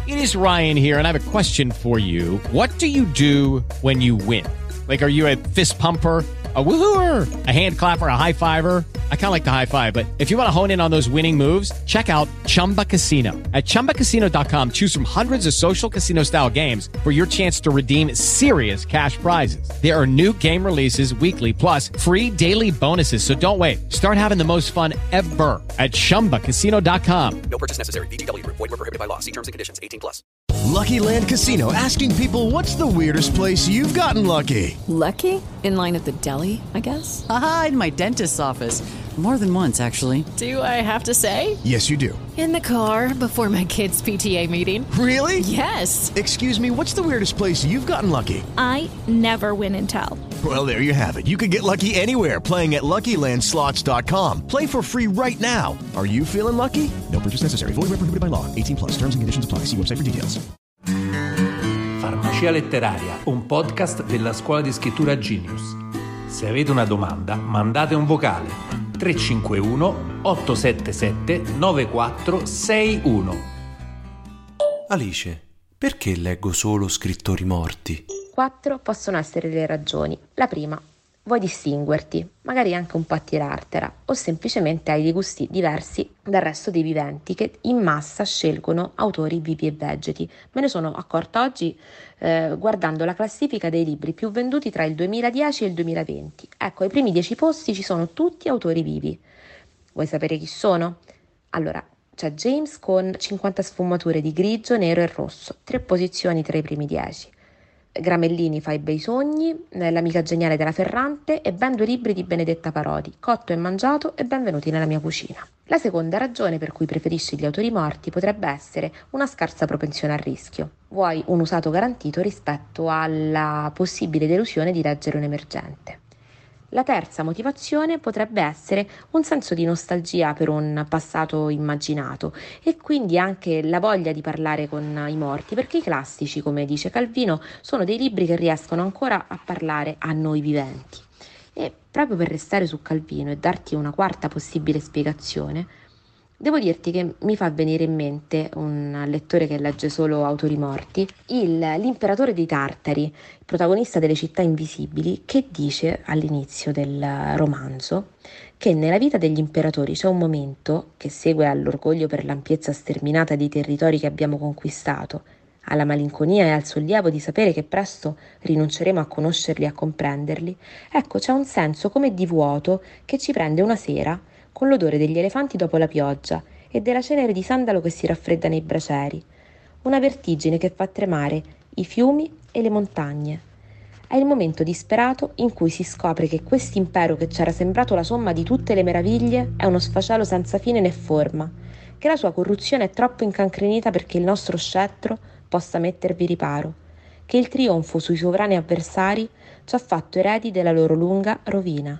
It is Ryan here, and I have a question for you. What do you do when you win? Like, are you a fist pumper, a woohooer, a hand clapper, a high fiver? I kind of like the high five, but if you want to hone in on those winning moves, check out Chumba Casino. At ChumbaCasino.com, choose from hundreds of social casino style games for your chance to redeem serious cash prizes. There are new game releases weekly, plus free daily bonuses. So don't wait. Start having the most fun ever at ChumbaCasino.com. No purchase necessary. VGW Group. Void where prohibited by law. See terms and conditions. 18+. Lucky Land Casino, asking people, what's the weirdest place you've gotten lucky? Lucky? In line at the deli, I guess? Aha, in my dentist's office. More than once, actually. Do I have to say? Yes, you do. In the car before my kids' PTA meeting. Really? Yes. Excuse me, what's the weirdest place you've gotten lucky? I never win and tell. Well, there you have it. You can get lucky anywhere, playing at LuckyLandSlots.com. Play for free right now. Are you feeling lucky? No purchase necessary. Void where prohibited by law. 18+. Terms and conditions apply. See website for details. Farmacia Letteraria, un podcast della scuola di scrittura Genius. Se avete una domanda, mandate un vocale 351 877 9461. Alice, perché leggo solo scrittori morti? 4 possono essere le ragioni. La prima, vuoi distinguerti, magari anche un po' a tirartela, o semplicemente hai dei gusti diversi dal resto dei viventi che in massa scelgono autori vivi e vegeti. Me ne sono accorta oggi guardando la classifica dei libri più venduti tra il 2010 e il 2020. Ecco, ai primi 10 posti ci sono tutti autori vivi. Vuoi sapere chi sono? Allora, c'è James con 50 sfumature di grigio, nero e rosso, 3 posizioni tra i primi 10. Gramellini fa i bei sogni, L'amica geniale della Ferrante e ben 2 libri di Benedetta Parodi, Cotto e mangiato e Benvenuti nella mia cucina. La seconda ragione per cui preferisci gli autori morti potrebbe essere una scarsa propensione al rischio. Vuoi un usato garantito rispetto alla possibile delusione di leggere un emergente. La terza motivazione potrebbe essere un senso di nostalgia per un passato immaginato e quindi anche la voglia di parlare con i morti, perché i classici, come dice Calvino, sono dei libri che riescono ancora a parlare a noi viventi. E proprio per restare su Calvino e darti una quarta possibile spiegazione, devo dirti che mi fa venire in mente un lettore che legge solo autori morti, l'imperatore dei Tartari, il protagonista delle Città Invisibili, che dice all'inizio del romanzo che nella vita degli imperatori c'è un momento che segue all'orgoglio per l'ampiezza sterminata dei territori che abbiamo conquistato, alla malinconia e al sollievo di sapere che presto rinunceremo a conoscerli e a comprenderli. Ecco, c'è un senso come di vuoto che ci prende una sera con l'odore degli elefanti dopo la pioggia e della cenere di sandalo che si raffredda nei bracieri. Una vertigine che fa tremare i fiumi e le montagne. È il momento disperato in cui si scopre che quest'impero che c'era sembrato la somma di tutte le meraviglie è uno sfacelo senza fine né forma, che la sua corruzione è troppo incancrenita perché il nostro scettro possa mettervi riparo, che il trionfo sui sovrani avversari ci ha fatto eredi della loro lunga rovina.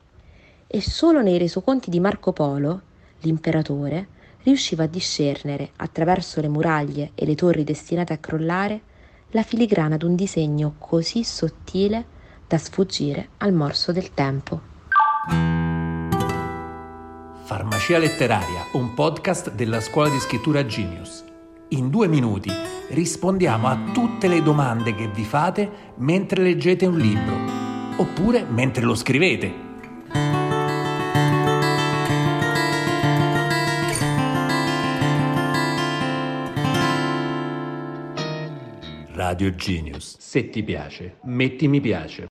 E solo nei resoconti di Marco Polo, l'imperatore, riusciva a discernere, attraverso le muraglie e le torri destinate a crollare, la filigrana d'un disegno così sottile da sfuggire al morso del tempo. Farmacia Letteraria, un podcast della scuola di scrittura Genius. In 2 minuti rispondiamo a tutte le domande che vi fate mentre leggete un libro, oppure mentre lo scrivete. Radio Genius. Se ti piace, metti mi piace.